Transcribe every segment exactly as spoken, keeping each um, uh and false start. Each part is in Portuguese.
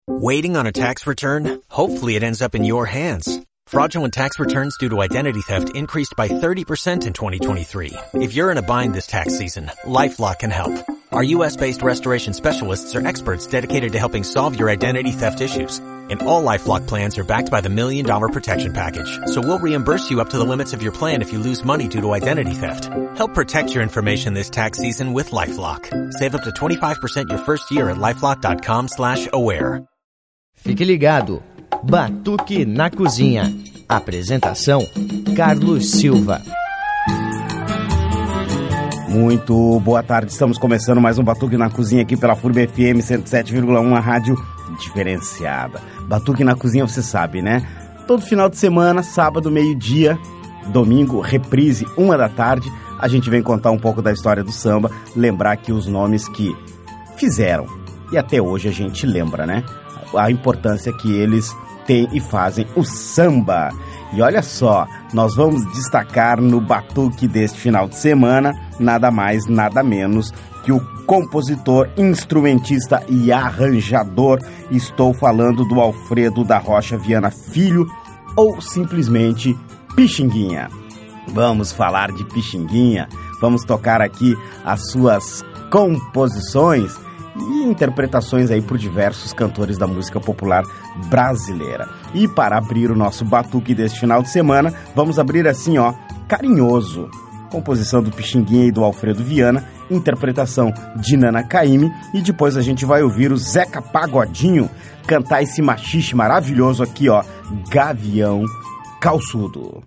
Waiting on a tax return? Hopefully it ends up in your hands. Fraudulent tax returns due to identity theft increased by thirty percent in twenty twenty-three. If you're in a bind this tax season, LifeLock can help. Our U S-based restoration specialists are experts dedicated to helping solve your identity theft issues. And all LifeLock plans are backed by the Million Dollar Protection Package. So we'll reimburse you up to the limits of your plan if you lose money due to identity theft. Help protect your information this tax season with LifeLock. Save up to twenty-five percent your first year at LifeLock.com slash aware. Fique ligado. Batuque na Cozinha. Apresentação, Carlos Silva. Muito boa tarde, estamos começando mais um Batuque na Cozinha aqui pela F U R B F M cento e sete vírgula um, a rádio diferenciada. Batuque na Cozinha, você sabe, né? Todo final de semana, sábado, meio-dia, domingo, reprise, uma da tarde, a gente vem contar um pouco da história do samba, lembrar aqui os nomes que fizeram, e até hoje a gente lembra, né? A importância que eles têm e fazem o samba. E olha só, nós vamos destacar no Batuque deste final de semana, nada mais, nada menos que o compositor, instrumentista e arranjador. Estou falando do Alfredo da Rocha Viana Filho, ou simplesmente Pixinguinha. Vamos falar de Pixinguinha, vamos tocar aqui as suas composições e interpretações aí por diversos cantores da música popular brasileira. E para abrir o nosso batuque deste final de semana, vamos abrir assim, ó, Carinhoso, composição do Pixinguinha e do Alfredo Viana, interpretação de Nana Caymmi, e depois a gente vai ouvir o Zeca Pagodinho cantar esse machixe maravilhoso aqui, ó, Gavião Calçudo.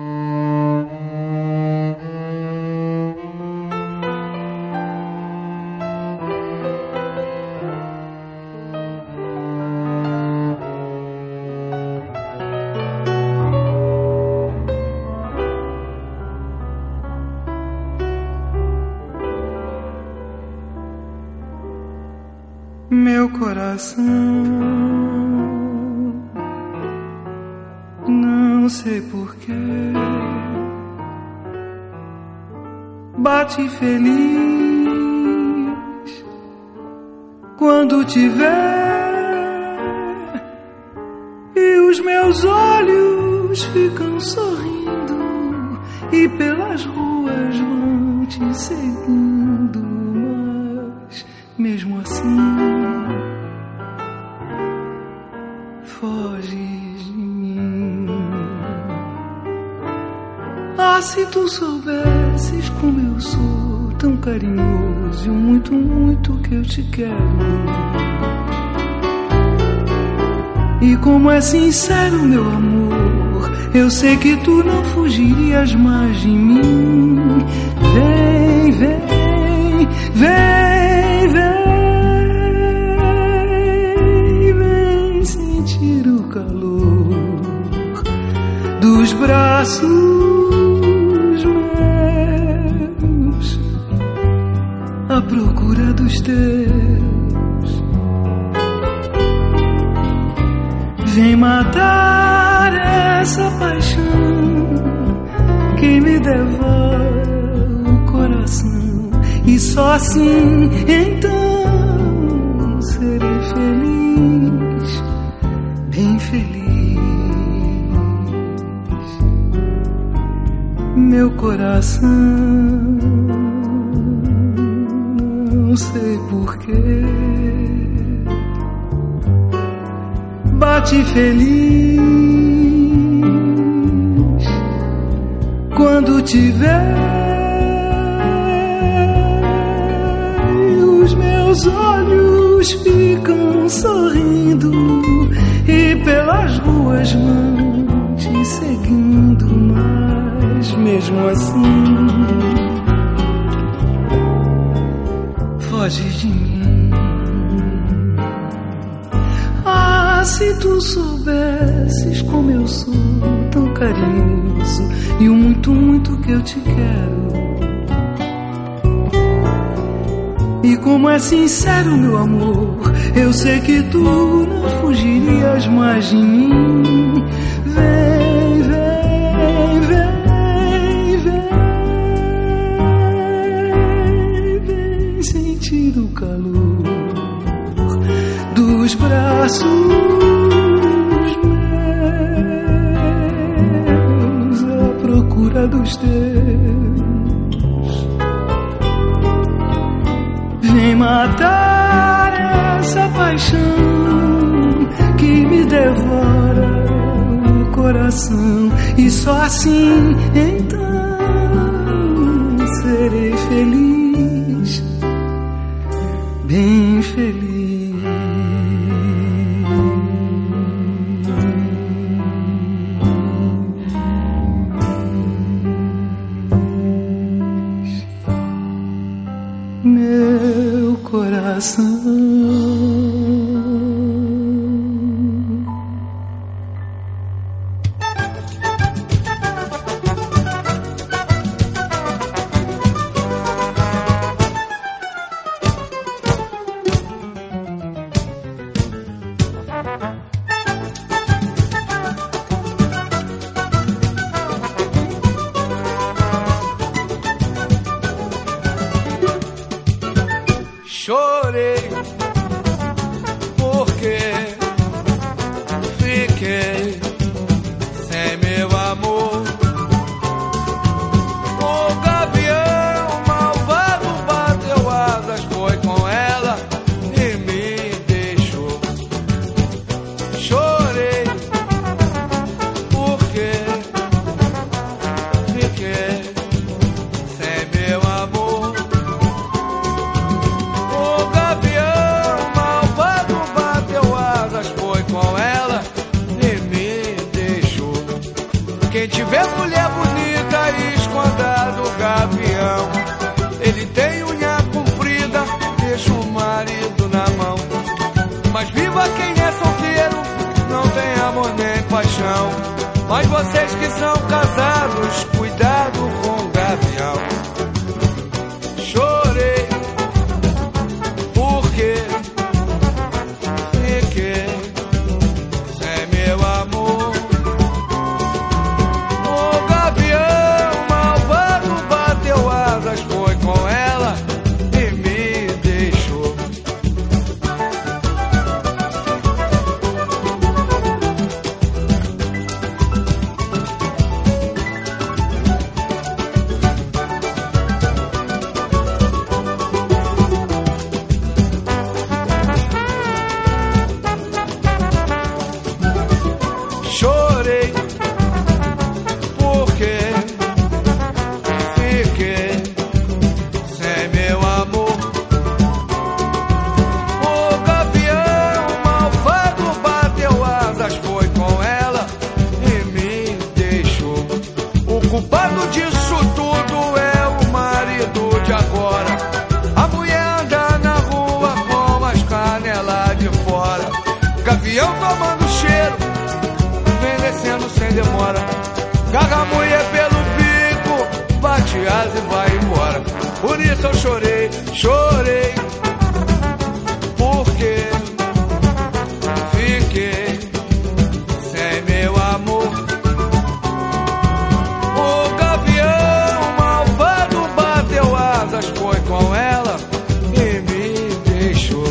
Meu coração, não sei porquê, bate feliz quando te vê, e os meus olhos ficam sorrindo e pelas ruas vão te seguindo, mas mesmo assim foges de mim. Ah, se tu soubesses como eu sou tão carinhoso e o muito, muito que eu te quero, e como é sincero meu amor, eu sei que tu não fugirias mais de mim. Vem, vem, vem, vem, o calor dos braços meus à procura dos teus. Vem matar essa paixão que me devora o coração, e só assim então serei feliz, bem feliz. Meu coração, não sei porquê, bate feliz quando te vê, e os meus olhos ficam sorrindo e pelas ruas vão te seguindo, mas mesmo assim foges de mim. Ah, se tu soubesses como eu sou tão carinhoso e o muito, muito que eu te quero, e como é sincero meu amor, eu sei que tu não fugirias mais de mim. Vem, vem, vem, vem, vem sentir o calor dos braços braços meus à procura dos teus. Vem matar essa paixão que me devora o coração, e só assim então serei feliz, bem feliz. Meu coração chorei porque fiquei sem meu amor. O gavião malvado bateu asas, foi com ela e me deixou. Chorei porque fiquei sem meu amor. Quem tiver mulher bonita e esconda do gavião, ele tem unha comprida, deixa o marido na mão. Mas viva quem é solteiro, não tem amor nem paixão. Mas vocês que são casados, cuidado com o gavião. Chorei porque fiquei sem meu amor. Foi com ela e me deixou. Chorei porque fiquei sem meu amor. O gavião malvado bateu asas, foi com ela e me deixou. O culpado disso tudo é o marido de agora. A mulher anda na rua com as canelas de fora. Gavião tomando cheiro, envelhecendo sem demora. Garra a mulher pelo bico, bate asa e vai embora. Por isso eu chorei, chorei, porque fiquei sem meu amor. O gavião malvado bateu asas, foi com ela e me deixou.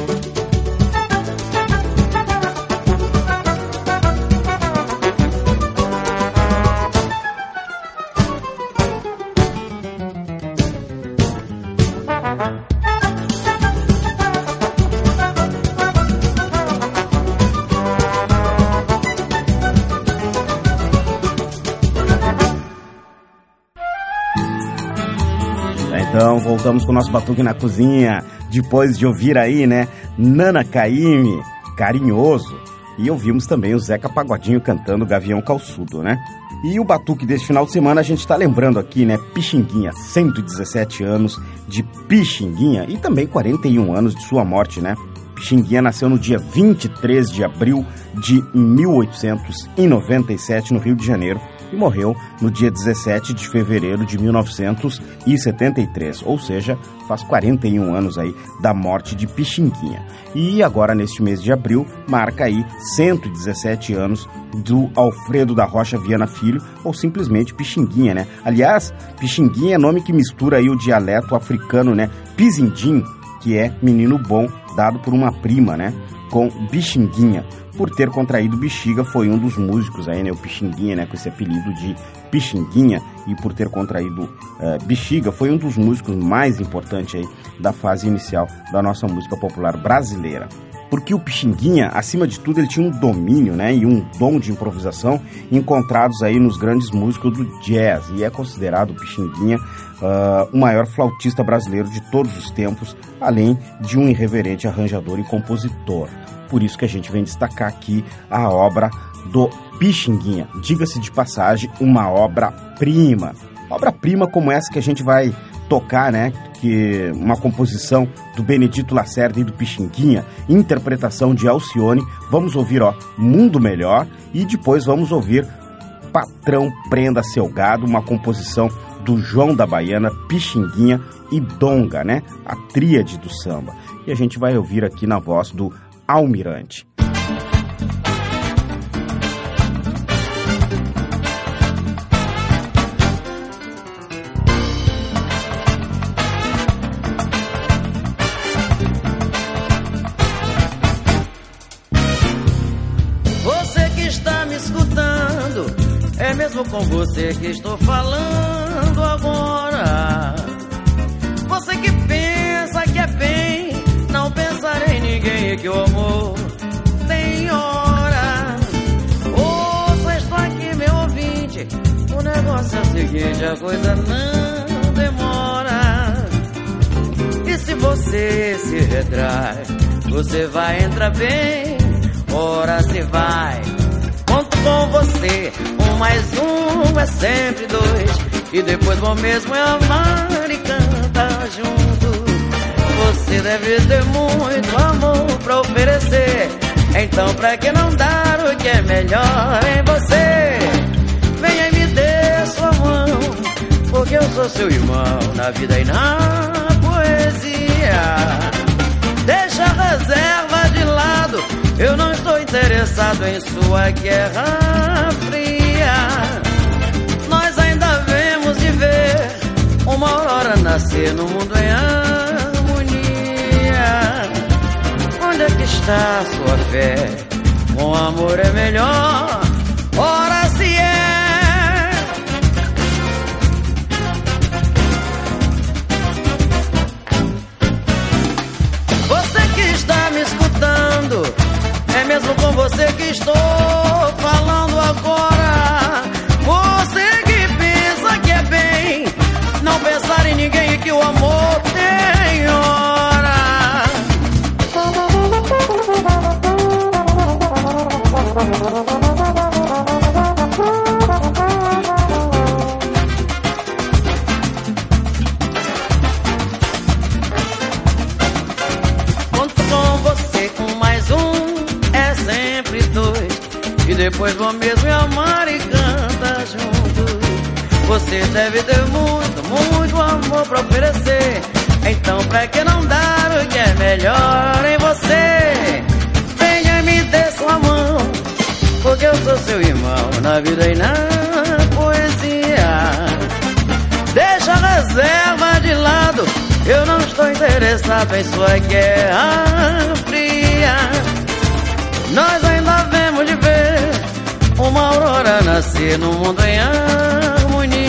Então, voltamos com o nosso Batuque na Cozinha, depois de ouvir aí, né, Nana Caymmi, Carinhoso, e ouvimos também o Zeca Pagodinho cantando Gavião Calçudo, né? E o Batuque desse final de semana a gente tá lembrando aqui, né, Pixinguinha, cento e dezessete anos de Pixinguinha e também quarenta e um anos de sua morte, né? Pixinguinha nasceu no dia vinte e três de abril de mil oitocentos e noventa e sete no Rio de Janeiro e morreu no dia dezessete de fevereiro de mil novecentos e setenta e três, ou seja, faz quarenta e um anos aí da morte de Pixinguinha. E agora, neste mês de abril, marca aí cento e dezessete anos do Alfredo da Rocha Viana Filho, ou simplesmente Pixinguinha, né? Aliás, Pixinguinha é nome que mistura aí o dialeto africano, né? Pizindim, que é menino bom, dado por uma prima, né? com Pixinguinha. Por ter contraído bexiga, foi um dos músicos aí, né, o Pixinguinha, né, com esse apelido de Pixinguinha, e por ter contraído uh, bexiga, foi um dos músicos mais importantes aí da fase inicial da nossa música popular brasileira. Porque o Pixinguinha, acima de tudo, ele tinha um domínio, né, e um dom de improvisação encontrados aí nos grandes músicos do jazz, e é considerado o Pixinguinha uh, o maior flautista brasileiro de todos os tempos, além de um irreverente arranjador e compositor. Por isso que a gente vem destacar aqui a obra do Pixinguinha. Diga-se de passagem, uma obra-prima. Obra-prima como essa que a gente vai tocar, né? Que uma composição do Benedito Lacerda e do Pixinguinha, interpretação de Alcione. Vamos ouvir, ó, Mundo Melhor, e depois vamos ouvir Patrão Prenda Seu Gado, uma composição do João da Baiana, Pixinguinha e Donga, né? A tríade do samba. E a gente vai ouvir aqui na voz do Almirante. Você que está me escutando, é mesmo com você que estou falando agora. Você que pensa que é bem não pensar em ninguém, que o amor tem hora. Ouça, estou aqui, meu ouvinte, o negócio é o seguinte, a coisa não demora. E se você se retrai, você vai entrar bem, ora se vai. Conto com você, um mais um é sempre dois, e depois bom mesmo é amar e cantar junto. Você deve ter muito amor pra oferecer, então pra que não dar o que é melhor em você? Venha e me dê sua mão, porque eu sou seu irmão na vida e na poesia. Deixa a reserva de lado, eu não estou interessado em sua guerra fria. Nós ainda vemos de ver uma aurora nascer no mundo em harmonia. Onde é que está a sua fé? Com amor é melhor, ora se é. Você que está me escutando, é mesmo com você que estou falando agora. Você que pensa que é bem não pensar em ninguém e que o amor tem hora. Conto com você, um mais um é sempre dois, e depois vou mesmo amar e cantar juntos. Você deve ter muito, muito amor pra oferecer, então pra que não dar o que é melhor em você? Venha e me dê sua mão, porque eu sou seu irmão na vida e na poesia. Deixa a reserva de lado, eu não estou interessado em sua guerra fria. Nós ainda vemos de ver uma aurora nascer no mundo em harmonia.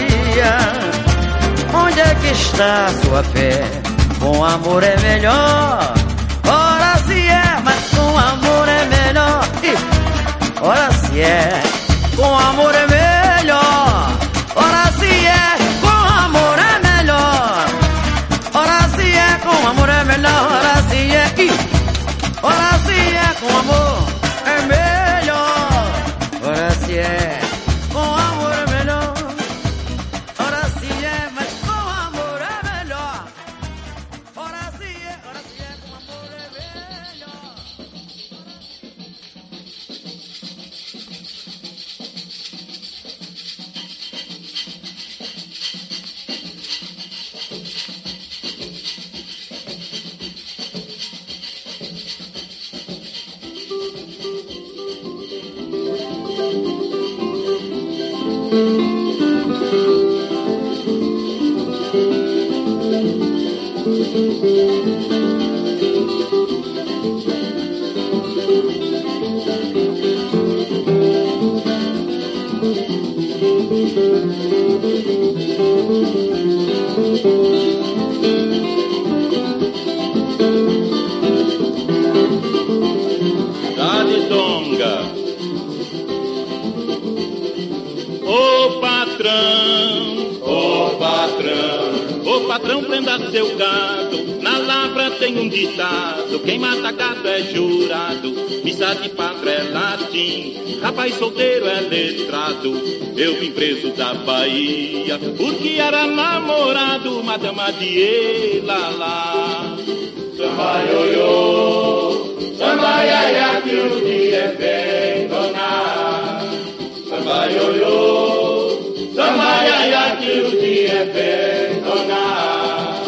Onde é que está a sua fé? Com amor é melhor, ora se é, mas com amor é melhor. E, ora se é, com amor é melhor, ora se é, com amor é melhor, ora se é, com amor é melhor, ora se é, e, ora se é, com amor é melhor, ora se é, com amor é melhor, ora se é, mas com amor é melhor, ora se é, ora se é, com amor é melhor. Tonga. Ô patrão, ô patrão, ô patrão, prenda seu gado. Na lavra tem um ditado: quem mata gado é jurado. Missa de padre é latim, rapaz solteiro é letrado. Eu vim preso da Bahia porque era namorado, madama de Elalá. Samba ioiô, samba iaia, que o dia é bem donar. Samba ioiô, samba iaia, que o dia é bem donar.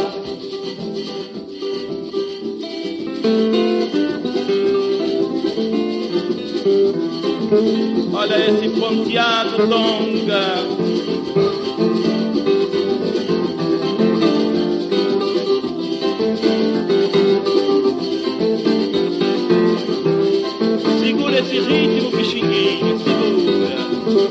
Olha esse ponteado longa. Segura esse ritmo, Pixinguinha, segura.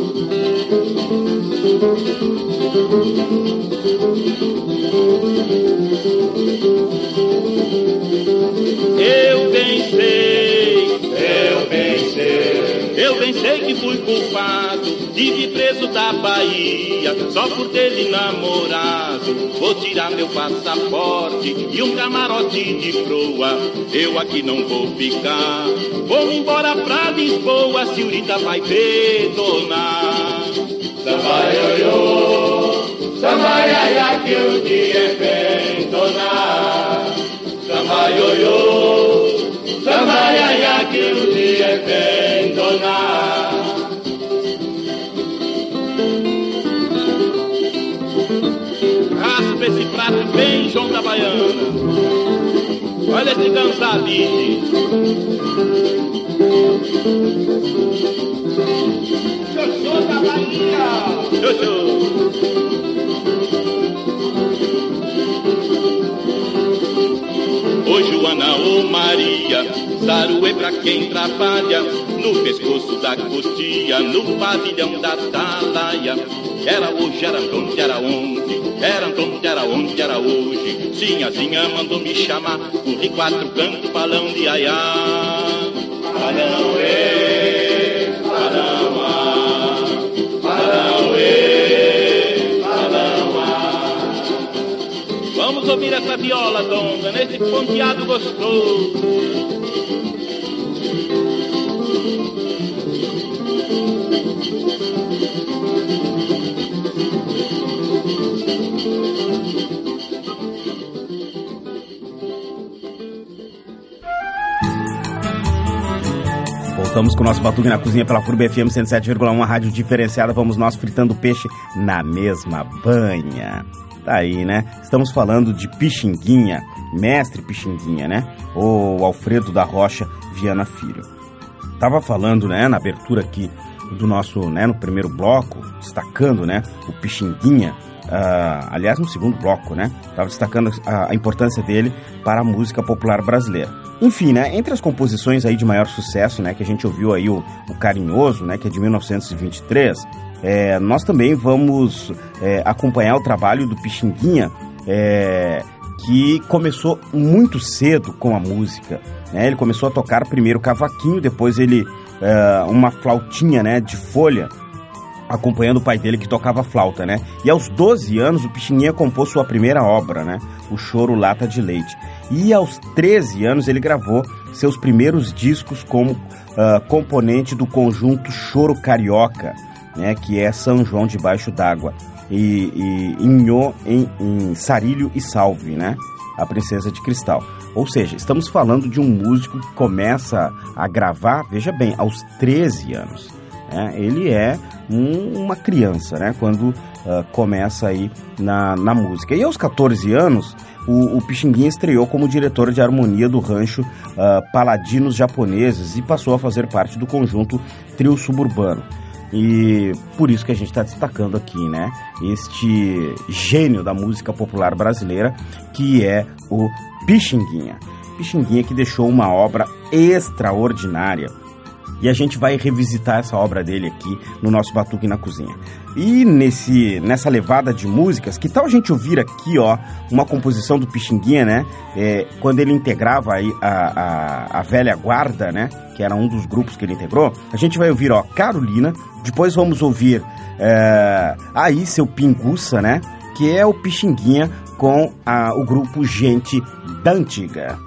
Eu bem sei, eu bem sei, eu bem sei que fui culpado de vir preso da Bahia só por ter lhe namorado. Vou tirar meu passaporte e um camarote de proa. Eu aqui não vou ficar, vou embora pra Lisboa, a senhorita vai detonar. Samba ioiô, samba iaia, que o dia é bem donar. Samba ioiô, samba iaia, que o dia é bem donar. Raspa esse prato bem, João da Baiana. Olha esse dançadinho. Xoxô da Bahia. Xoxô. Ô Joana, ô Maria, saruê pra quem trabalha no pescoço da cutia, no pavilhão da Atalaia. Era hoje, era onde, era onde, era onde, era onde, era hoje. Sinhazinha mandou me chamar, corri quatro cantos, balão de aiá. Balão, ê, balão, ah, balão, ê, balão, ah. Vamos ouvir essa viola, Donga, nesse ponteado gostoso. Voltamos com o nosso Batuque na Cozinha pela F U R B F M cento e sete vírgula um, a rádio diferenciada. Vamos nós fritando peixe na mesma banha. Tá aí, né? Estamos falando de Pixinguinha, mestre Pixinguinha, né? O Alfredo da Rocha Viana Filho. Tava falando, né, na abertura aqui do nosso, né, no primeiro bloco, destacando, né, o Pixinguinha. Uh, aliás, no segundo bloco, né? Tava destacando a, a importância dele para a música popular brasileira. Enfim, né? Entre as composições aí de maior sucesso, né? Que a gente ouviu aí o, o Carinhoso, né? Que é de mil novecentos e vinte e três. É, nós também vamos é, acompanhar o trabalho do Pixinguinha, é, que começou muito cedo com a música, né? Ele começou a tocar primeiro cavaquinho, depois ele é, uma flautinha, né? De folha, acompanhando o pai dele que tocava flauta, né? E aos doze anos o Pixinguinha compôs sua primeira obra, né? O Choro Lata de Leite. E aos treze anos ele gravou seus primeiros discos como uh, componente do conjunto Choro Carioca, né? Que é São João Debaixo d'Água. E, e Inhô em, em Sarilho e Salve, né? A Princesa de Cristal. Ou seja, estamos falando de um músico que começa a gravar, veja bem, aos treze anos. Né? Ele é um, uma criança, né? Quando uh, começa aí na, na música. E aos catorze anos, o, o Pixinguinha estreou como diretor de harmonia do rancho uh, Paladinos Japoneses e passou a fazer parte do conjunto Trio Suburbano. E por isso que a gente está destacando aqui, né? Este gênio da música popular brasileira, que é o Pixinguinha. Pixinguinha que deixou uma obra extraordinária e a gente vai revisitar essa obra dele aqui no nosso Batuque na Cozinha. E nesse, nessa levada de músicas, que tal a gente ouvir aqui, ó, uma composição do Pixinguinha, né? É, quando ele integrava aí a, a, a velha guarda, né? Que era um dos grupos que ele integrou. A gente vai ouvir, ó, Carolina. Depois vamos ouvir é, Aí Seu Pinguça, né? Que é o Pixinguinha com a, o grupo Gente da Antiga.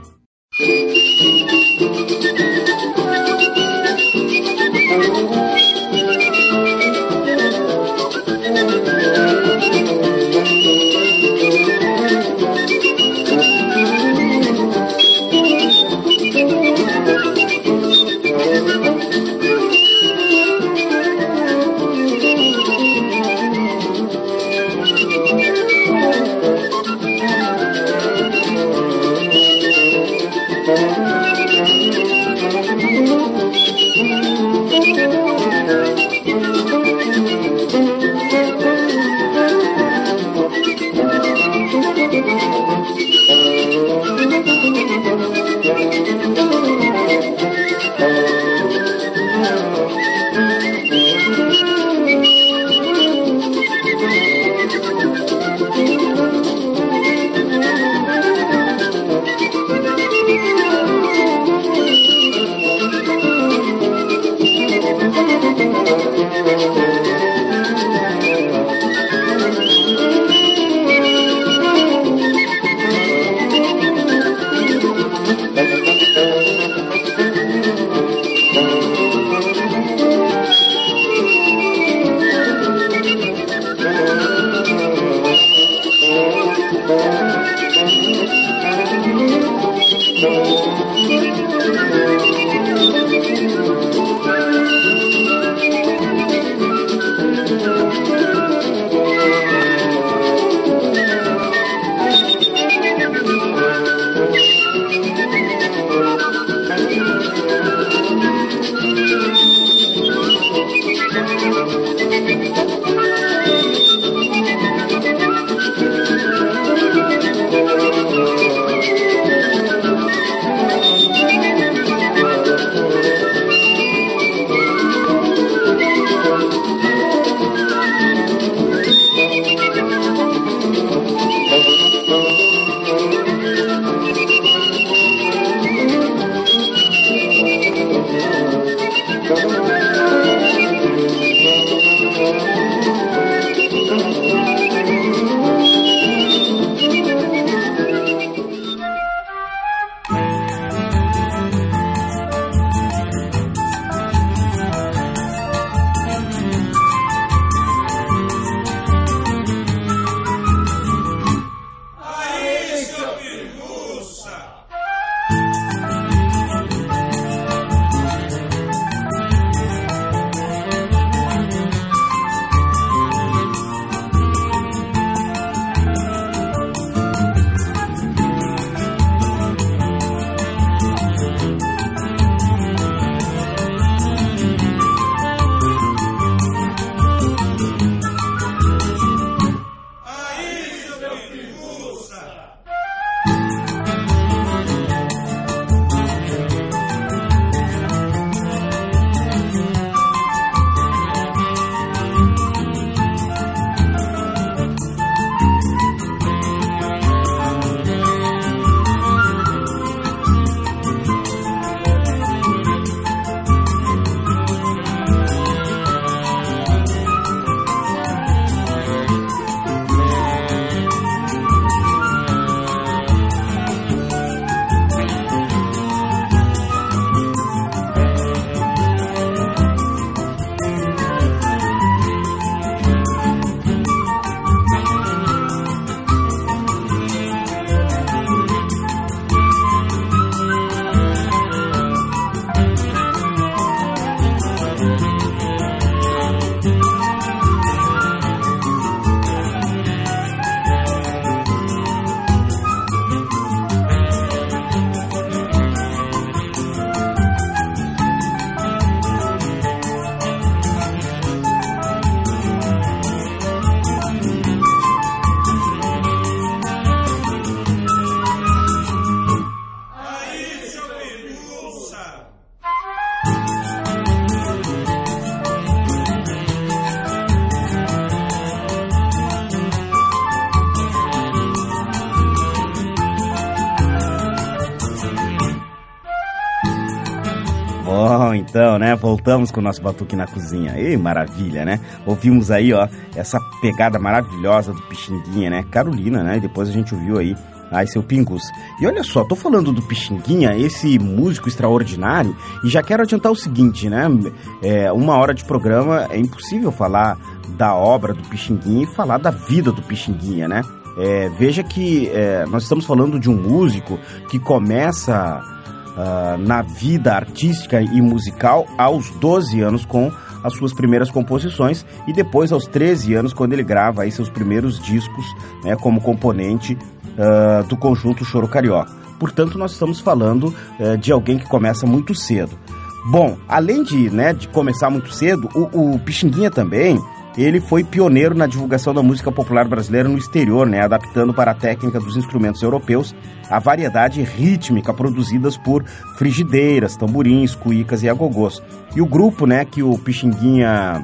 então, né? Voltamos com o nosso Batuque na Cozinha. Ei, maravilha, né? Ouvimos aí, ó, essa pegada maravilhosa do Pixinguinha, né? Carolina, né? E depois a gente ouviu aí, ai, seu Pingus. E olha só, tô falando do Pixinguinha, esse músico extraordinário, e já quero adiantar o seguinte, né? É, uma hora de programa é impossível falar da obra do Pixinguinha e falar da vida do Pixinguinha, né? É, veja que é, nós estamos falando de um músico que começa uh, na vida artística e musical aos doze anos com as suas primeiras composições e depois aos treze anos quando ele grava aí seus primeiros discos, né, como componente uh, do conjunto Choro Carioca. Portanto, nós estamos falando uh, de alguém que começa muito cedo. Bom, além de, né, de começar muito cedo, o, o Pixinguinha também, ele foi pioneiro na divulgação da música popular brasileira no exterior, né, adaptando para a técnica dos instrumentos europeus a variedade rítmica produzidas por frigideiras, tamborins, cuícas e agogôs. E o grupo, né, que o Pixinguinha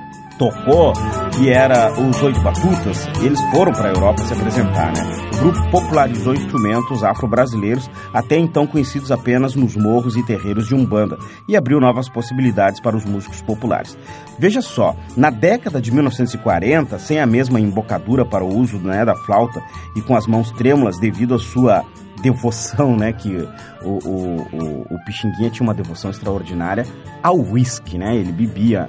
tocou, que era os Oito Batutas, eles foram para a Europa se apresentar, né? O grupo popularizou instrumentos afro-brasileiros, até então conhecidos apenas nos morros e terreiros de Umbanda, e abriu novas possibilidades para os músicos populares. Veja só, na década de mil novecentos e quarenta, sem a mesma embocadura para o uso, né, da flauta e com as mãos trêmulas devido à sua devoção, né, que o, o, o, o Pixinguinha tinha uma devoção extraordinária ao whisky, né? Ele bebia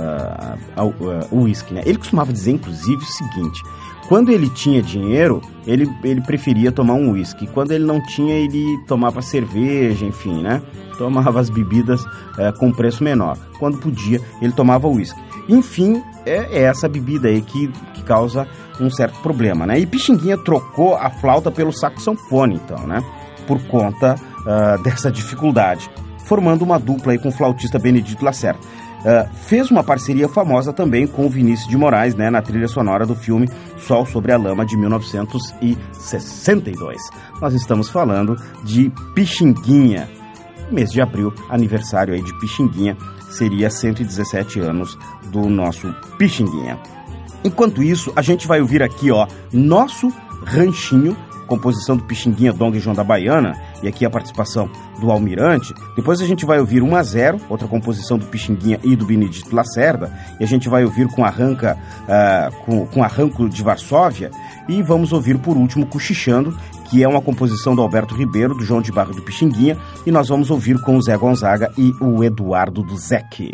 uh, uh, uh, o whisky, né? Ele costumava dizer, inclusive, o seguinte: quando ele tinha dinheiro, ele, ele preferia tomar um whisky. Quando ele não tinha, ele tomava cerveja, enfim, né? Tomava as bebidas uh, com preço menor. Quando podia, ele tomava whisky. Enfim, é, é essa bebida aí que, que causa um certo problema, né? E Pixinguinha trocou a flauta pelo saxofone, então, né? Por conta uh, dessa dificuldade, formando uma dupla aí com o flautista Benedito Lacerda. Uh, fez uma parceria famosa também com o Vinícius de Moraes, né, na trilha sonora do filme Sol sobre a Lama, de mil novecentos e sessenta e dois. Nós estamos falando de Pixinguinha. Mês de abril, aniversário aí de Pixinguinha, seria cento e dezessete anos do nosso Pixinguinha. Enquanto isso, a gente vai ouvir aqui, ó, Nosso Ranchinho, composição do Pixinguinha, Dong e João da Baiana, e aqui a participação do Almirante. Depois a gente vai ouvir um a zero, outra composição do Pixinguinha e do Benedito Lacerda, e a gente vai ouvir com, arranca, uh, com, com Arranco de Varsóvia, e vamos ouvir por último Cochichando, que é uma composição do Alberto Ribeiro, do João de Barro e do Pixinguinha, e nós vamos ouvir com o Zé Gonzaga e o Eduardo do Zeque.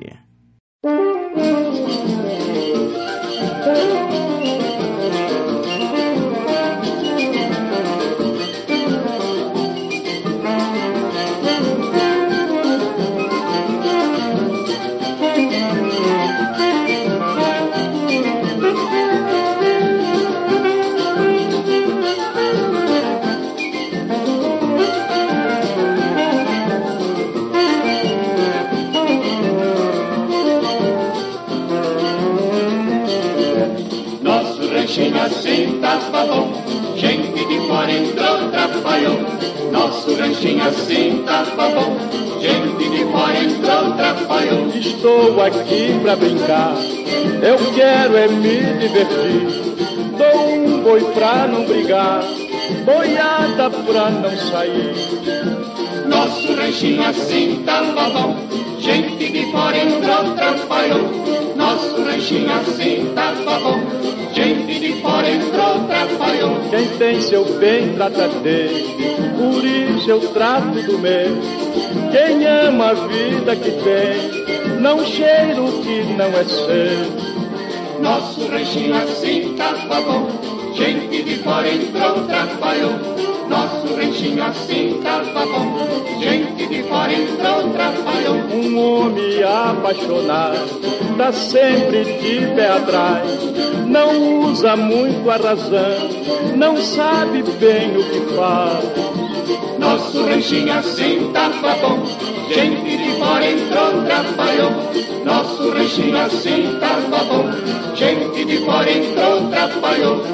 Assim tava bom, gente de fora entrou, trabalhou. Nosso ranchinho assim tava bom, gente de fora entrou, trabalhou. Estou aqui pra brincar, eu quero é me divertir. Dou um boi pra não brigar, boiada pra não sair. Nosso ranchinho assim tava bom, gente de fora entrou, trabalhou. Nosso ranchinho assim tava bom, gente de fora entrou, trabalhou. Quem tem seu bem trata dele, por isso eu trato do meu. Quem ama a vida que tem, não cheira o que não é seu. Nosso ranchinho assim tava bom, gente de fora entrou, trabalhou. Nosso ranchinho assim tava bom, gente de fora entrou, trabalhou. Um homem apaixonado tá sempre de pé atrás, não usa muito a razão, não sabe bem o que faz. Nosso ranchinho assim tava bom, gente de fora entrou, trabalhou. Nosso ranchinho assim tava bom, gente de fora entrou, trabalhou.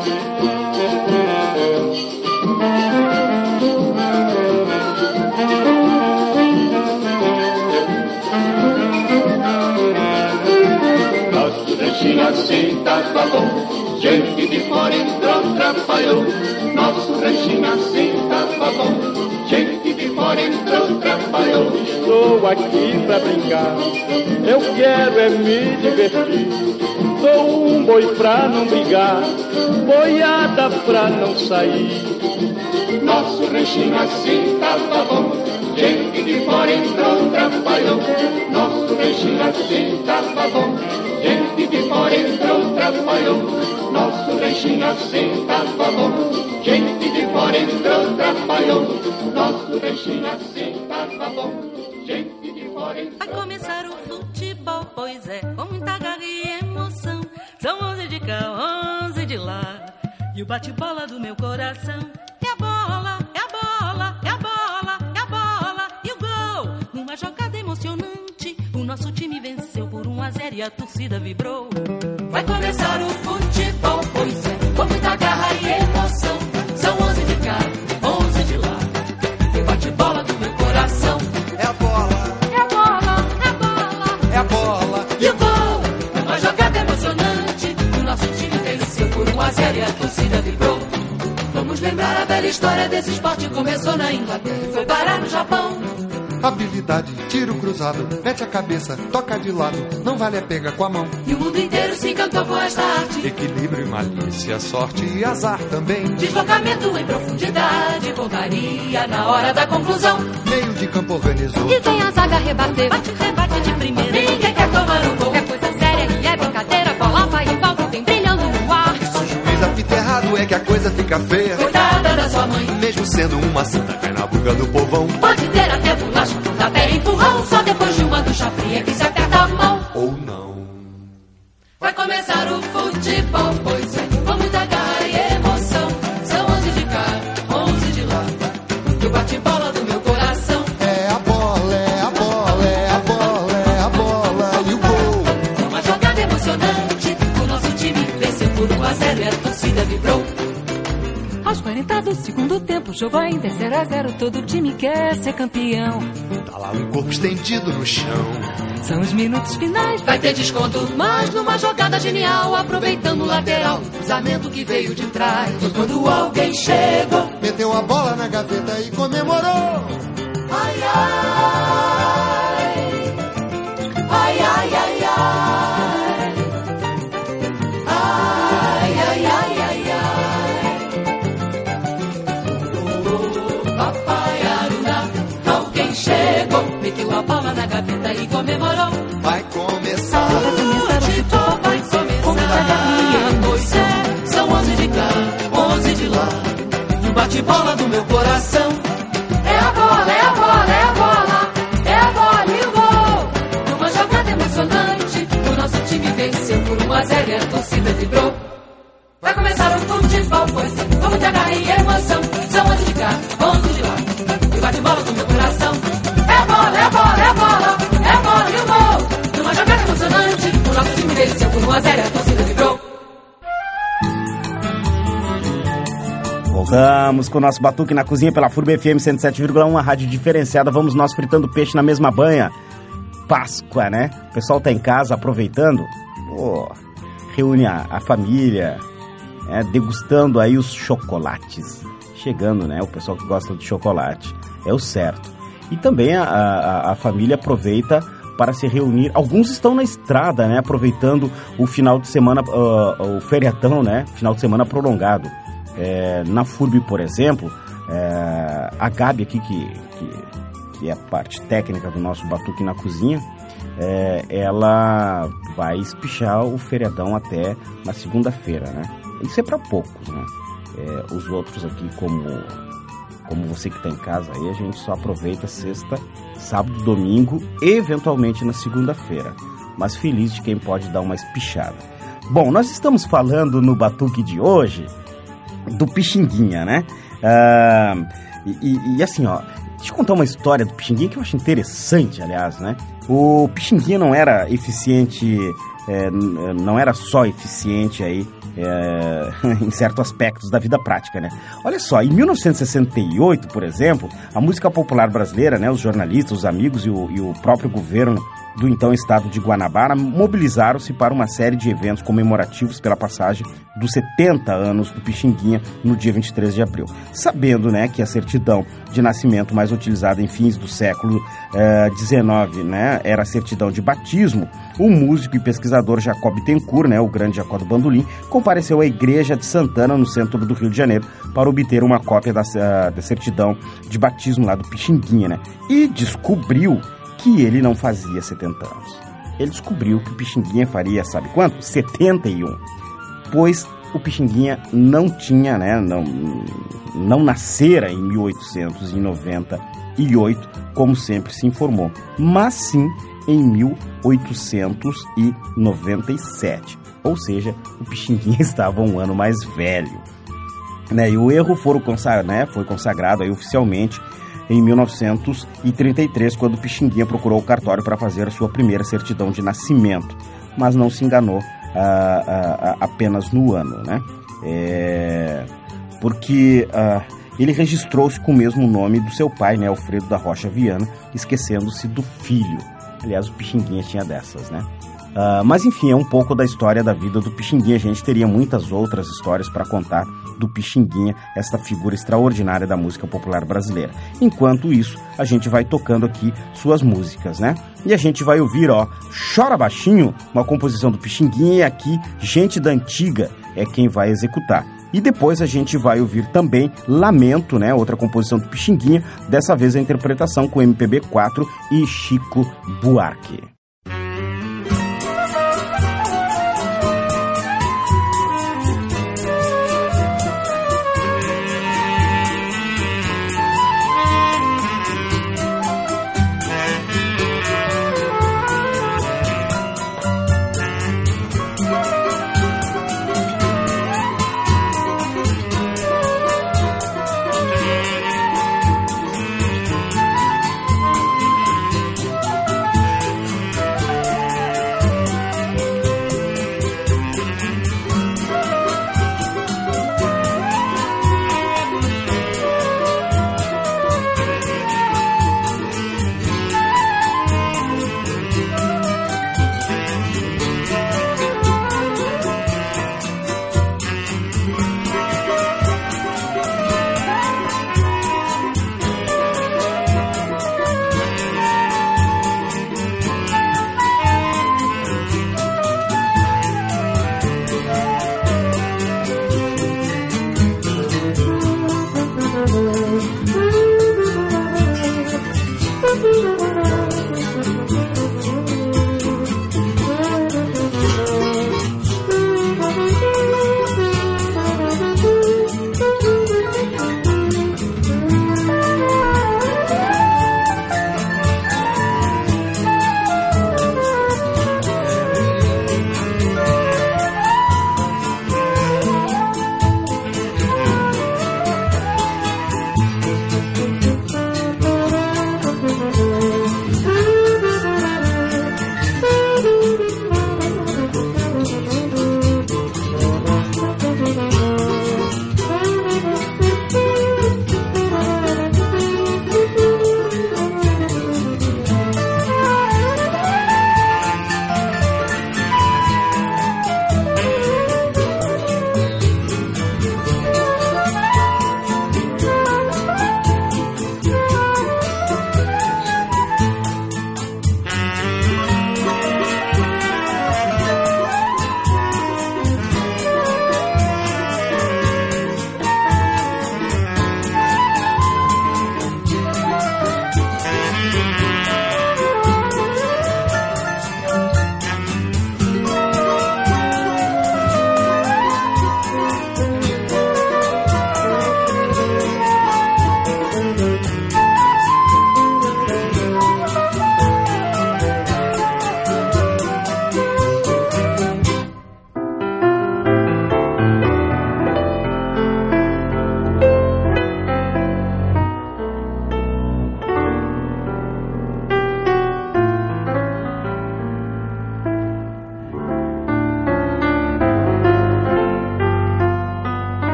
Nosso ranchinho assim tava bom, gente de fora entrou, trabalhou. Nosso ranchinho assim tava bom, gente de fora entrou, trabalhou. estou aqui pra brincar. Eu quero é me divertir. Sou um boi pra não brigar, boiada pra não sair. Nosso ranchinho assim tava bom, gente de fora entrou, trapalhão. Nosso ranchinho assim tava bom, gente de fora entrou, trapalhão. Nosso ranchinho assim tava bom, gente de fora entrou, trapalhão. Nosso ranchinho assim tava bom, gente de fora entrou. Vai começar o futebol, pois é, com muita garra e emoção. São onze de cá, onze de lá, e o bate-bola do meu coração. É a bola, é a bola, é a bola, é a bola, e o gol. Numa jogada emocionante, o nosso time venceu por um a zero e a torcida vibrou. Vai começar o futebol, pois é, com muita garra e emoção. São onze de cá, onze de lá, e o bate-bola do meu coração. É a bola, é a bola, é a bola, é a bola, e o gol. Numa jogada emocionante, o nosso time venceu por um a zero e a torcida vibrou. Vamos lembrar a velha história desse esporte. Começou na Inglaterra e foi parar no Japão. Habilidade, tiro cruzado, mete a cabeça, toca de lado, não vale a pega com a mão. E o mundo inteiro se encantou com esta arte. Equilíbrio e malícia, sorte e azar também. Deslocamento em profundidade, pontaria na hora da conclusão. Meio de campo organizou. E vem a zaga rebater, bate, rebate de primeira. Ninguém quer tomar o gol. É coisa séria e é brincadeira, bola vai e volta, vem brilhando no ar. E se o juiz apita errado é que a coisa fica feia. Coitada da sua mãe. Mesmo sendo uma santa, cai na buga do povão. Pode ter até bolacha, até empurrão. Só depois de uma ducha fria que se aperta a mão. Ou não. Vai começar o futebol, pois é, com muita garra e emoção. São onze de cá, onze de lá, e o bate-bola do meu coração. É a bola, é a bola, é a bola, é a bola, e o gol. Uma jogada emocionante, o nosso time venceu por um a zero e a torcida vibrou. Aos quarenta do segundo tempo, o jogo ainda é zero a zero, todo time quer ser campeão. Tá lá o corpo estendido no chão. São os minutos finais, vai ter desconto, mas numa jogada genial, aproveitando o lateral, o cruzamento que veio de trás. Foi quando alguém chegou, meteu a bola na gaveta e comemorou. Ai, ai, ai, ai, ai, ai, ai, ai, ai, ai, ai. Papai Aruna, alguém chegou, meteu a bola na gaveta e comemorou. Vai começar o futebol, vai começar. Pois é, são onze de cá, onze de lá, e o bate-bola do meu coração. É a bola, é a bola, é a bola, é a bola e o gol. Numa jogada emocionante, o nosso time venceu por um a zero e a torcida vibrou. Vai começar o futebol, pois é, com muita garra e emoção. São onze de cá, onze de lá, e o bate-bola do meu coração. É a bola, é a bola, é a bola, é a bola e o gol. Numa jogada emocionante, o nosso time venceu por um a zero e a torcida vibrou. Voltamos com o nosso Batuque na Cozinha pela F U R B F M cento e sete vírgula um, a rádio diferenciada. Vamos nós fritando peixe na mesma banha. Páscoa, né? O pessoal tá em casa aproveitando. Pô, reúne a, a família, é, degustando aí os chocolates. Chegando, né? O pessoal que gosta de chocolate. É o certo. E também a, a, a família aproveita para se reunir. Alguns estão na estrada, né? Aproveitando o final de semana, uh, o feriadão, né? Final de semana prolongado. É, na F U R B, por exemplo, é, a Gabi aqui, que, que, que é a parte técnica do nosso Batuque na Cozinha, é, ela vai espichar o feriadão até na segunda-feira, né? Isso é para poucos, né? É, os outros aqui, como, como você que está em casa, aí a gente só aproveita sexta, sábado, domingo e eventualmente na segunda-feira. Mas feliz de quem pode dar uma espichada. Bom, nós estamos falando no Batuque de hoje do Pixinguinha, né? Ah, e, e, e assim, ó, deixa eu contar uma história do Pixinguinha que eu acho interessante, aliás, né? O Pixinguinha não era eficiente, é, não era só eficiente aí é, em certos aspectos da vida prática, né? Olha só, em mil novecentos e sessenta e oito, por exemplo, a música popular brasileira, né? Os jornalistas, os amigos e o, e o próprio governo do então estado de Guanabara mobilizaram-se para uma série de eventos comemorativos pela passagem dos setenta anos do Pixinguinha no dia vinte e três de abril. Sabendo, né, que a certidão de nascimento mais utilizada em fins do século dezenove, né, era a certidão de batismo, o músico e pesquisador Jacob Bittencourt, né, o grande Jacó do Bandolim, compareceu à igreja de Santana, no centro do Rio de Janeiro, para obter uma cópia da, da certidão de batismo lá do Pixinguinha, né, e descobriu que ele não fazia setenta anos. Ele descobriu que o Pixinguinha faria, sabe quanto? setenta e um. Pois o Pixinguinha não tinha, né, não, não nascera em mil oitocentos e noventa e oito, como sempre se informou, mas sim em mil oitocentos e noventa e sete. Ou seja, o Pixinguinha estava um ano mais velho. Né, e o erro foi consagrado, né, foi consagrado aí oficialmente em mil novecentos e trinta e três, quando o Pixinguinha procurou o cartório para fazer a sua primeira certidão de nascimento, mas não se enganou ah, ah, apenas no ano, né? É, porque ah, ele registrou-se com o mesmo nome do seu pai, né, Alfredo da Rocha Viana, esquecendo-se do filho. Aliás, o Pixinguinha tinha dessas, né? Uh, mas enfim, é um pouco da história da vida do Pixinguinha. A gente teria muitas outras histórias para contar do Pixinguinha, esta figura extraordinária da música popular brasileira. Enquanto isso, a gente vai tocando aqui suas músicas, né? E a gente vai ouvir, ó, Chora Baixinho, uma composição do Pixinguinha, e aqui Gente da Antiga é quem vai executar. E depois a gente vai ouvir também Lamento, né? Outra composição do Pixinguinha, dessa vez a interpretação com M P B quatro e Chico Buarque.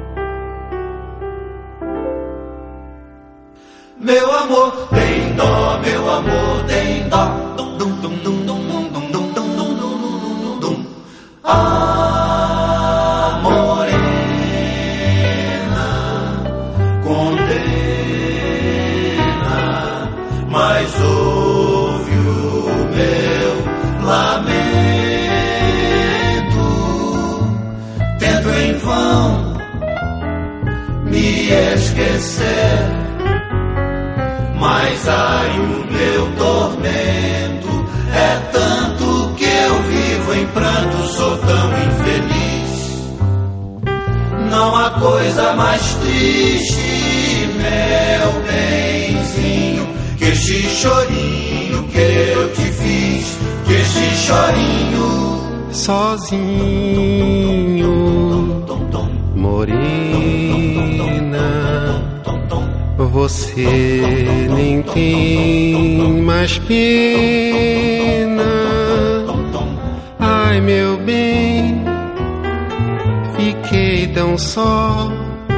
Meu amor, tem nome. dó, meu amor, tem dó. Dum, dum, dum, dum, dum, dum, dum, dum, dum, dum, dum. Ah, morena, condena, mas ouve o meu lamento. Tento em vão me esquecer, mas ai, o meu tormento é tanto que eu vivo em pranto, sou tão infeliz. Não há coisa mais triste, meu benzinho, que este chorinho que eu te fiz, que este chorinho. Sozinho, morena, você nem tem mais pena. Ai, meu bem, fiquei tão só.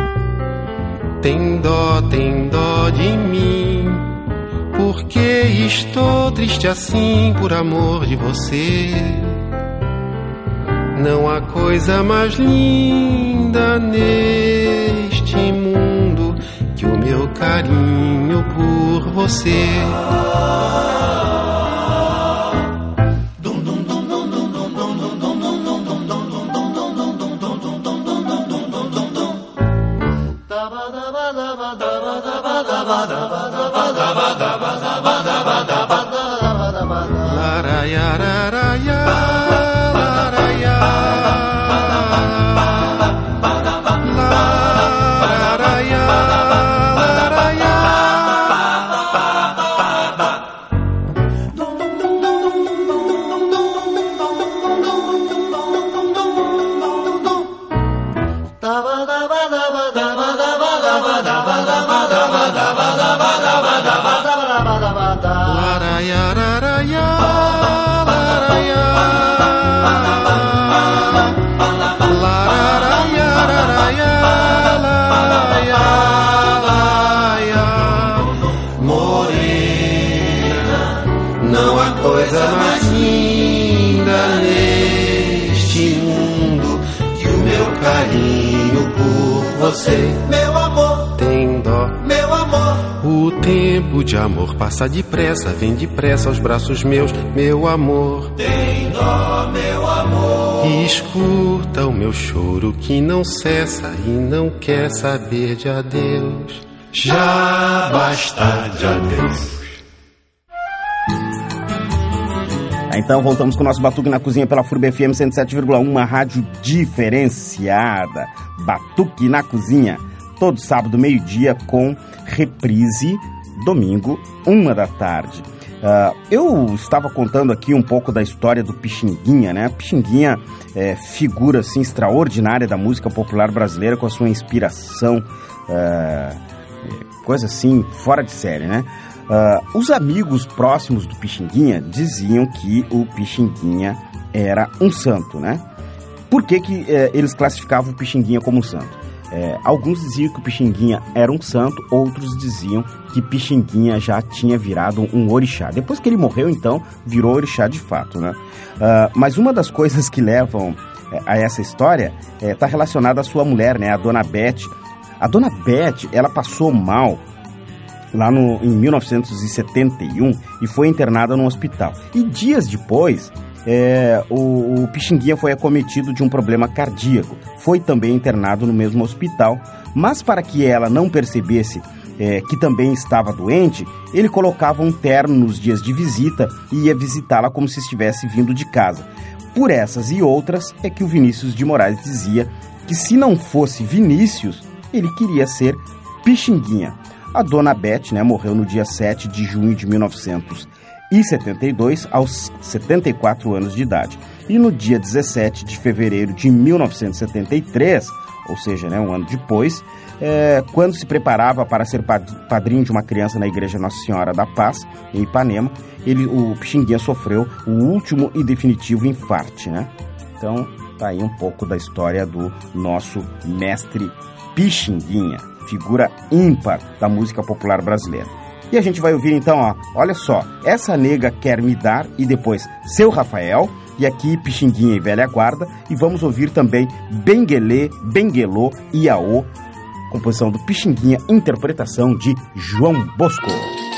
Tem dó, tem dó de mim, porque estou triste assim por amor de você. Não há coisa mais linda neste mundo que o meu carinho por você. Você, meu amor, tem dó, meu amor. O tempo de amor passa depressa, vem depressa aos braços meus, meu amor. Tem dó, meu amor. E escuta o meu choro que não cessa e não quer saber de adeus. Já basta de adeus. Então voltamos com o nosso Batuque na Cozinha pela F U R B F M cento e sete vírgula um, uma rádio diferenciada. Batuque na Cozinha, todo sábado, meio-dia, com reprise, domingo, uma da tarde. Uh, eu estava contando aqui um pouco da história do Pixinguinha, né? Pixinguinha é figura, assim, extraordinária da música popular brasileira, com a sua inspiração, uh, coisa assim, fora de série, né? Uh, os amigos próximos do Pixinguinha diziam que o Pixinguinha era um santo, né? Por que que eh, eles classificavam o Pixinguinha como um santo? Eh, alguns diziam que o Pixinguinha era um santo, outros diziam que Pixinguinha já tinha virado um orixá. Depois que ele morreu, então, virou orixá de fato, né? Uh, mas uma das coisas que levam eh, a essa história está eh, relacionada à sua mulher, né? A Dona Beth. A Dona Beth, ela passou mal lá no, em mil novecentos e setenta e um e foi internada num hospital. E dias depois, é, o, o Pixinguinha foi acometido de um problema cardíaco. Foi também internado no mesmo hospital, mas para que ela não percebesse é, que também estava doente, ele colocava um terno nos dias de visita e ia visitá-la como se estivesse vindo de casa. Por essas e outras é que o Vinícius de Moraes dizia que se não fosse Vinícius, ele queria ser Pixinguinha. A Dona Beth, né, morreu no dia sete de junho de mil novecentos e setenta e dois, aos setenta e quatro anos de idade. E no dia dezessete de fevereiro de mil novecentos e setenta e três, ou seja, né, um ano depois, é, quando se preparava para ser padrinho de uma criança na Igreja Nossa Senhora da Paz, em Ipanema, ele, o Pixinguinha sofreu o último e definitivo infarte, né? Então, tá aí um pouco da história do nosso mestre Pixinguinha, figura ímpar da música popular brasileira. E a gente vai ouvir então, ó, olha só, Essa Nega Quer Me Dar e depois Seu Rafael, e aqui Pixinguinha e Velha Guarda, e vamos ouvir também Benguelê, Benguelô e Aô, composição do Pixinguinha, interpretação de João Bosco.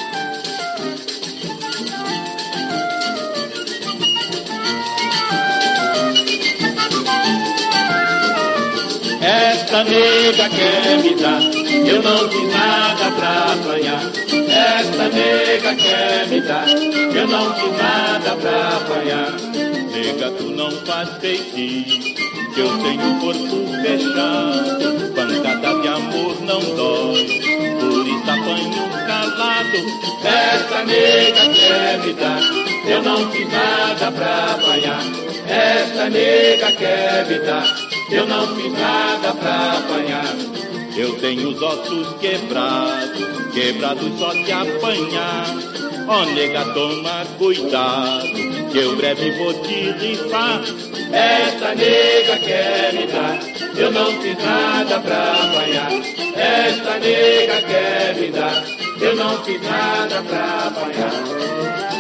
Essa nega quer me dar, eu não fiz nada pra apanhar. Essa nega quer me dar, eu não fiz nada pra apanhar. Nega, tu não faz feitiço, que eu tenho o corpo fechado. Pancada de amor não dói, por isso apanho calado. Essa nega quer me dar, eu não fiz nada pra apanhar. Essa nega quer me dar, eu não fiz nada pra apanhar. Eu tenho os ossos quebrados, quebrados só de apanhar. Ó, oh, nega, toma cuidado, que eu breve vou te rifar. Essa nega quer me dar, eu não fiz nada pra apanhar. Essa nega quer me dar, eu não fiz nada pra apanhar.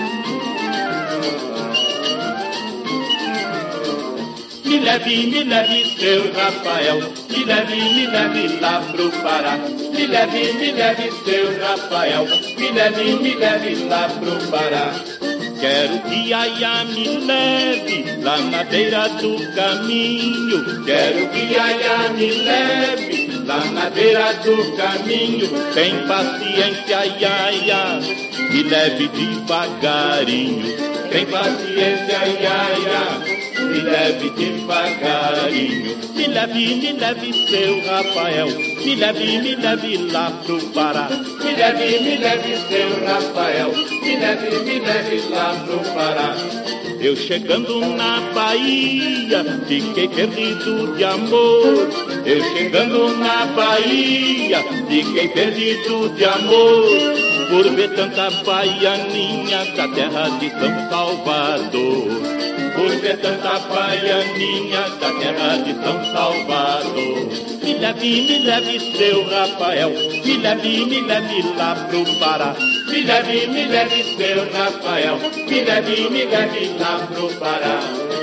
Me leve, me leve, seu Rafael, me leve, me leve lá pro Pará. Me leve, me leve, seu Rafael, me leve, me leve lá pro Pará. Quero que Aiá me leve lá na beira do caminho. Quero que Aiá me leve lá na beira do caminho. Tem paciência, Aiá, me leve devagarinho. Tem paciência, Aiá, me leve devagarinho. Me leve, me leve, seu Rafael, me leve, me leve lá pro Pará. Me leve, me leve, seu Rafael, me leve, me leve lá pro Pará. Eu chegando na Bahia, fiquei perdido de amor. Eu chegando na Bahia, fiquei perdido de amor. Por ver tanta baianinha da terra de São Salvador. Por ver tanta baianinha da terra de São Salvador. Me leve, me leve, seu Rafael, me leve, me leve lá pro Pará. Me leve, me leve, seu Rafael, me leve, me leve lá pro Pará.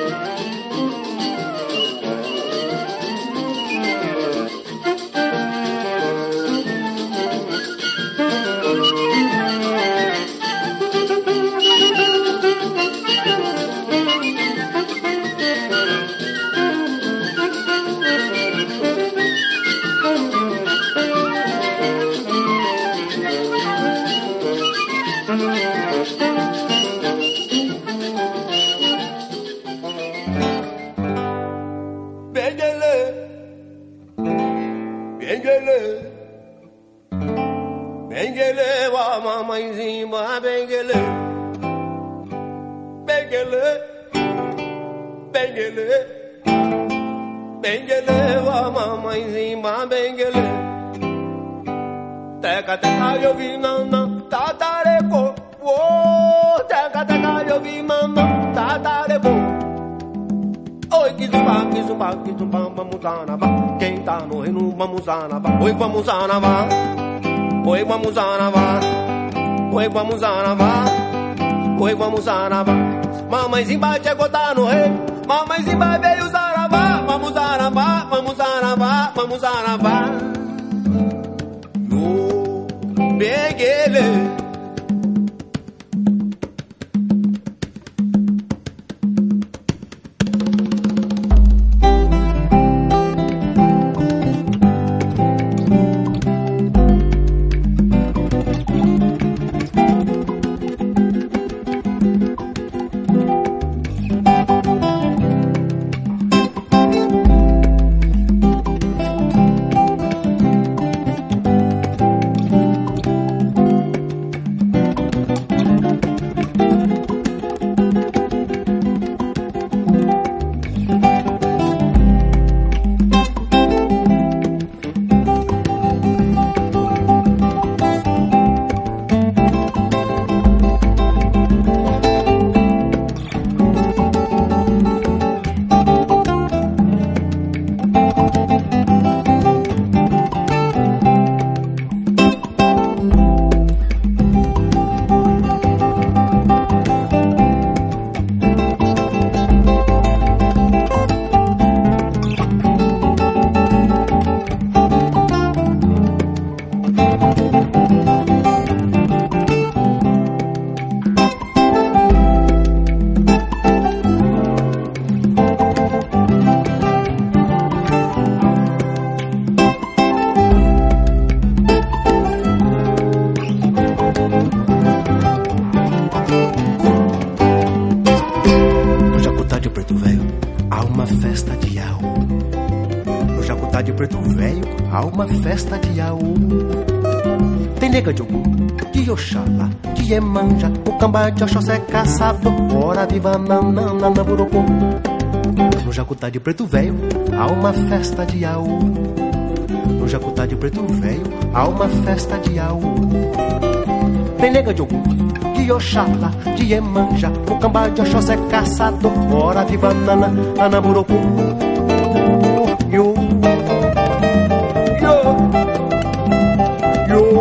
Benguele, wa mamãezinha, benguele, benguele, benguele, benguele, wa mamãezinha, benguele. Teca, teca, eu vi nanã, tatareco, oh, teca, teca, eu vi nanã, tatareco. Oi, que zumba, que zumba, que zumba, vamos anavá. Quem tá no reino, vamos anavá. Oi, vamos anavá. Oi, vamos anavá. Oi, vamos anavá. Oi, vamos anavá. Mamãezinha chegou, tá no reino. Mamãezinha veio zaravá. Vamos anavá, vamos anavá, vamos anavá. Yo, benguele. de preto velho, há uma festa de Iaú. Tem nega de Ogum, de Oxalá, de Iemanjá, o cambá de Oxóssi é caçador, ora viva nanana na burocô. No Jacutá de preto velho, há uma festa de Iaú. No Jacutá de preto velho, há uma festa de Iaú. Tem nega de Ogum, de Oxalá, de Iemanjá, o cambá de Oxóssi é caçador, ora viva nanana na burocô. Yo, yo, yo,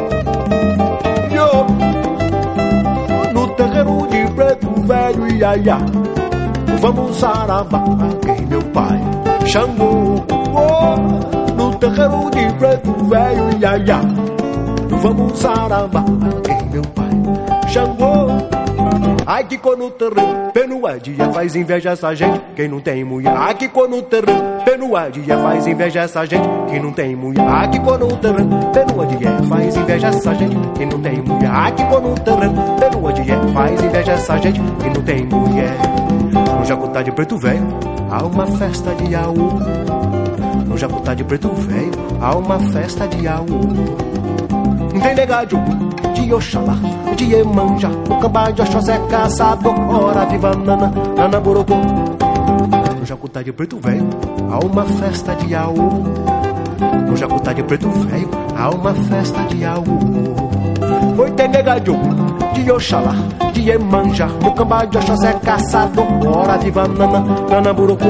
yo. No terreiro de preto velho, iaiá, vamos saravá, quem meu pai Xangô. Oh, no terreiro de preto velho, iaiá, vamos saravá, quem meu pai Xangô. Ai que quando o terreno, pelo a dia faz inveja essa gente, quem não tem mulher. Ai que quando o terreno, pelo a dia faz inveja essa gente, que não tem mulher. Ai que quando o terreno, pelo a dia faz inveja essa gente, que não tem mulher. Ai que quando o terreno, pelo a dia faz inveja essa gente, que não tem mulher. No Jacutá de preto velho, há uma festa de Iaú. No Jacutá de preto velho, há uma festa de Iaú. Tem negado de Oxalá, de Iemanjá, o cambá de Oxóssi é caçador, ora viva nana, nana borocô. No Jacutá de preto velho, há uma festa de Iaú. No Jacutá de preto velho, há uma festa de Iaú. Oi, tem negado de Oxalá, de Iemanjá, o cambá de Oxóssi é caçador, ora viva nana, nana borocô.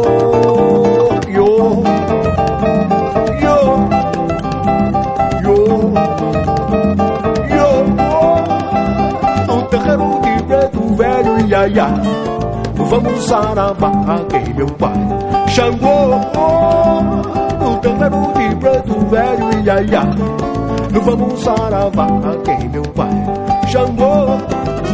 Yo, yo, yo. Terreiro de preto velho, iaiá, vamos saravá, quem meu pai Xangô. No terreiro de preto velho, iaiá, vamos saravá, quem meu pai Xangô.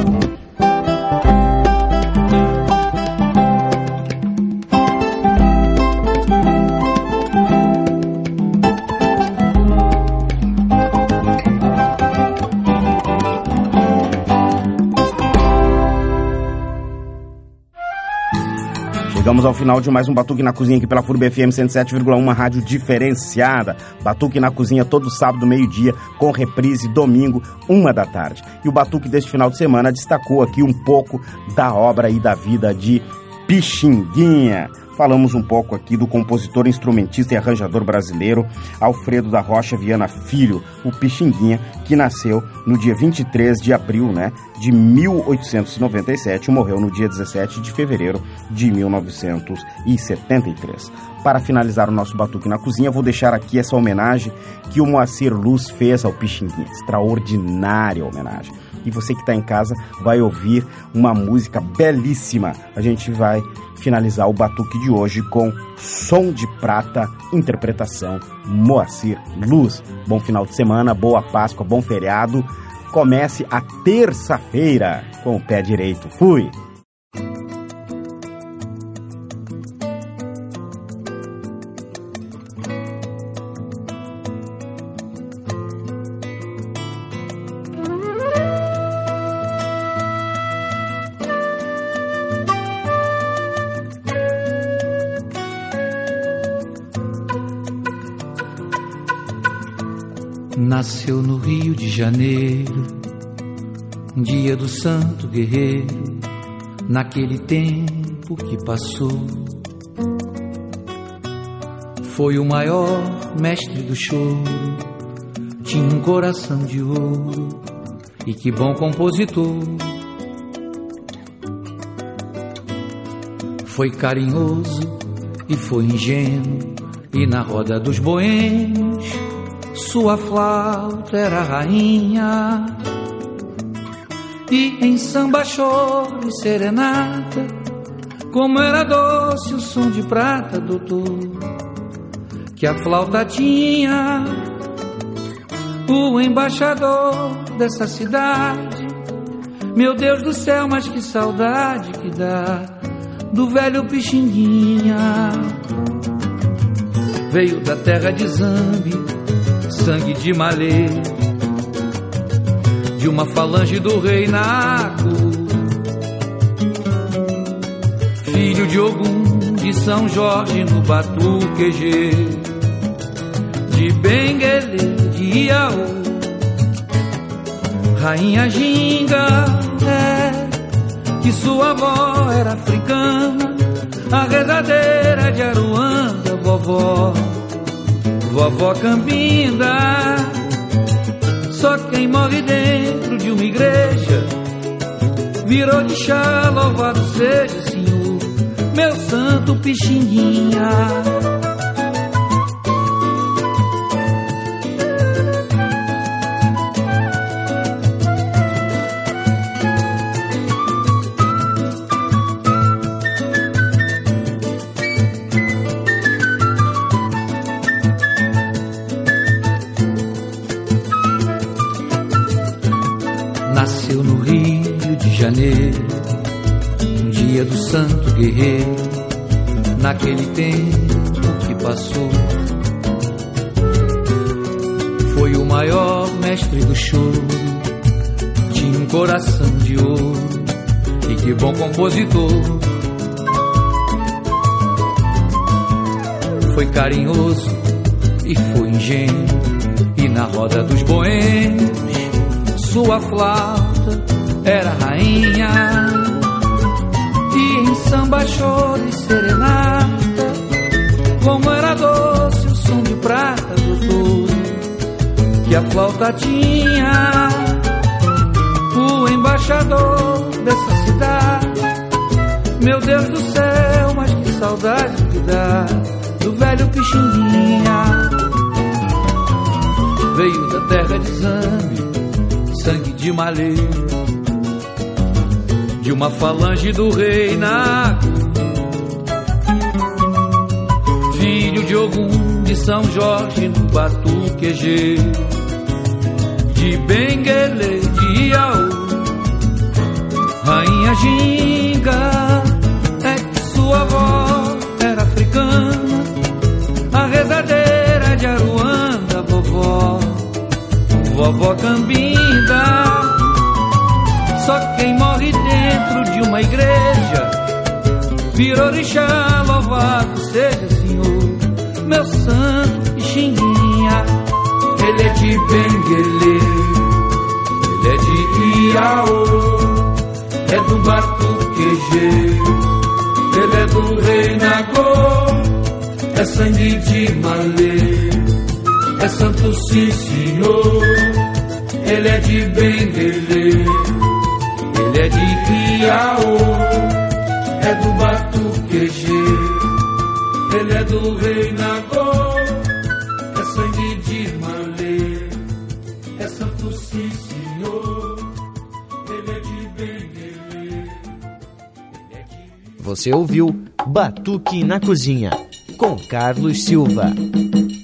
Chegamos ao final de mais um Batuque na Cozinha aqui pela F U R B F M cento e sete vírgula um, uma rádio diferenciada. Batuque na Cozinha todo sábado, meio-dia, com reprise domingo, uma da tarde. E o Batuque deste final de semana destacou aqui um pouco da obra e da vida de Pixinguinha. Falamos um pouco aqui do compositor, instrumentista e arranjador brasileiro Alfredo da Rocha Viana Filho, o Pixinguinha, que nasceu no dia vinte e três de abril, né, de mil oitocentos e noventa e sete e morreu no dia dezessete de fevereiro de mil novecentos e setenta e três. Para finalizar o nosso Batuque na Cozinha, vou deixar aqui essa homenagem que o Moacir Luz fez ao Pixinguinha. Extraordinária homenagem. E você que está em casa vai ouvir uma música belíssima. A gente vai finalizar o Batuque de hoje com Som de Prata, interpretação Moacir Luz. Bom final de semana, boa Páscoa, bom feriado. Comece a terça-feira com o pé direito. Fui! Nasceu no Rio de Janeiro, dia do santo guerreiro, naquele tempo que passou. Foi o maior mestre do choro, tinha um coração de ouro, e que bom compositor. Foi carinhoso e foi ingênuo, e na roda dos boêmios sua flauta era a rainha. E em samba, choro e serenata, como era doce o som de prata, doutor, que a flauta tinha. O embaixador dessa cidade, meu Deus do céu, mas que saudade que dá do velho Pixinguinha. Veio da terra de Zambi, sangue de malê, de uma falange do rei Naco, filho de Ogum, de São Jorge no Batuquejê. de Benguele, de Iaú, Rainha Ginga, é, que sua avó era africana, a rezadeira de Aruanda, vovó, vovó Cambinda. Só quem morre dentro de uma igreja virou de chá, louvado seja, Senhor, meu santo Pixinguinha. Nasceu no Rio de Janeiro, um dia do santo guerreiro, naquele tempo que passou. Foi o maior mestre do choro, tinha um coração de ouro, e que bom compositor. Foi carinhoso e foi ingênuo, e na roda dos boêmios sua flauta era rainha. E em samba, choro e serenata, como era doce o som de prata do touro que a flauta tinha. O embaixador dessa cidade, meu Deus do céu, mas que saudade que dá do velho Pixinguinha. Veio da terra de Zambi, sangue de Malê, de uma falange do rei Naco, filho de Ogum de São Jorge no Batuquejê, de Benguele, de Iaú, Rainha Ginga, é que sua avó era africana, a rezadeira de Aruanda, vovó, vovó Cambinda. Só quem morre dentro de uma igreja virou orixá, louvado seja, Senhor, meu santo Pixinguinha. Ele é de Benguele, ele é de Iaú, é do Batuquejê, ele é do rei Nagô, é sangue de Malê, é santo sim, senhor. Ele é de Benguele, ele é de Iaú, é do Batuquejê, ele é do rei Nagô, é sangue de Malê, é santo sim, senhor. Ele é de Benguele. Você ouviu Batuque na Cozinha, com Carlos Silva.